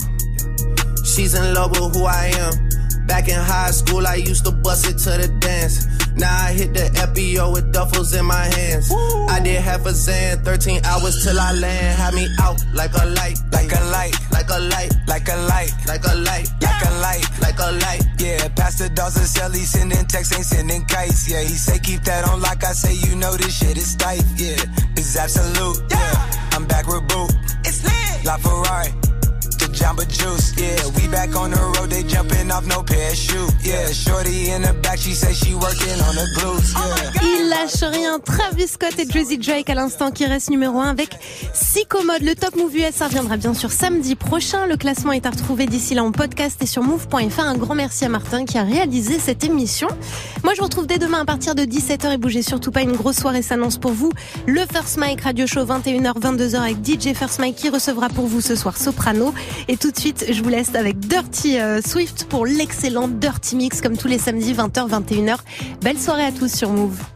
She's in love with who I am. Back in high school, I used to bust it to the dance. Now I hit the FBO with duffels in my hands. Woo. I did half a Zan, 13 hours till I land. Had me out like a light, like a light, like a light, like a light, like a light, like a light, like a light. Yeah, Pastor Dawson Sally sending texts, ain't sending kites. Yeah, he say keep that on like I say, you know this shit is tight. Yeah, it's absolute. Yeah, I'm back with Boo. It's lit. La Ferrari. Jamba Juice, yeah, we back on the road, they jumping off no parachute, yeah, shorty in the back, she say she working on the glutes, yeah. Il lâche rien, Travis Scott et Drizzy Drake à l'instant qui reste numéro 1 avec Psychomode. Le Top Move US, ça reviendra bien sûr samedi prochain, le classement est à retrouver d'ici là en podcast et sur move.fr. Un grand merci à Martin qui a réalisé cette émission. Moi je vous retrouve dès demain à partir de 17h et bougez surtout pas, une grosse soirée s'annonce pour vous. Le First Mike Radio Show 21h, 22h avec DJ First Mike qui recevra pour vous ce soir Soprano. Et tout de suite, je vous laisse avec Dirty Swift pour l'excellent Dirty Mix comme tous les samedis 20h, 21h. Belle soirée à tous sur Move.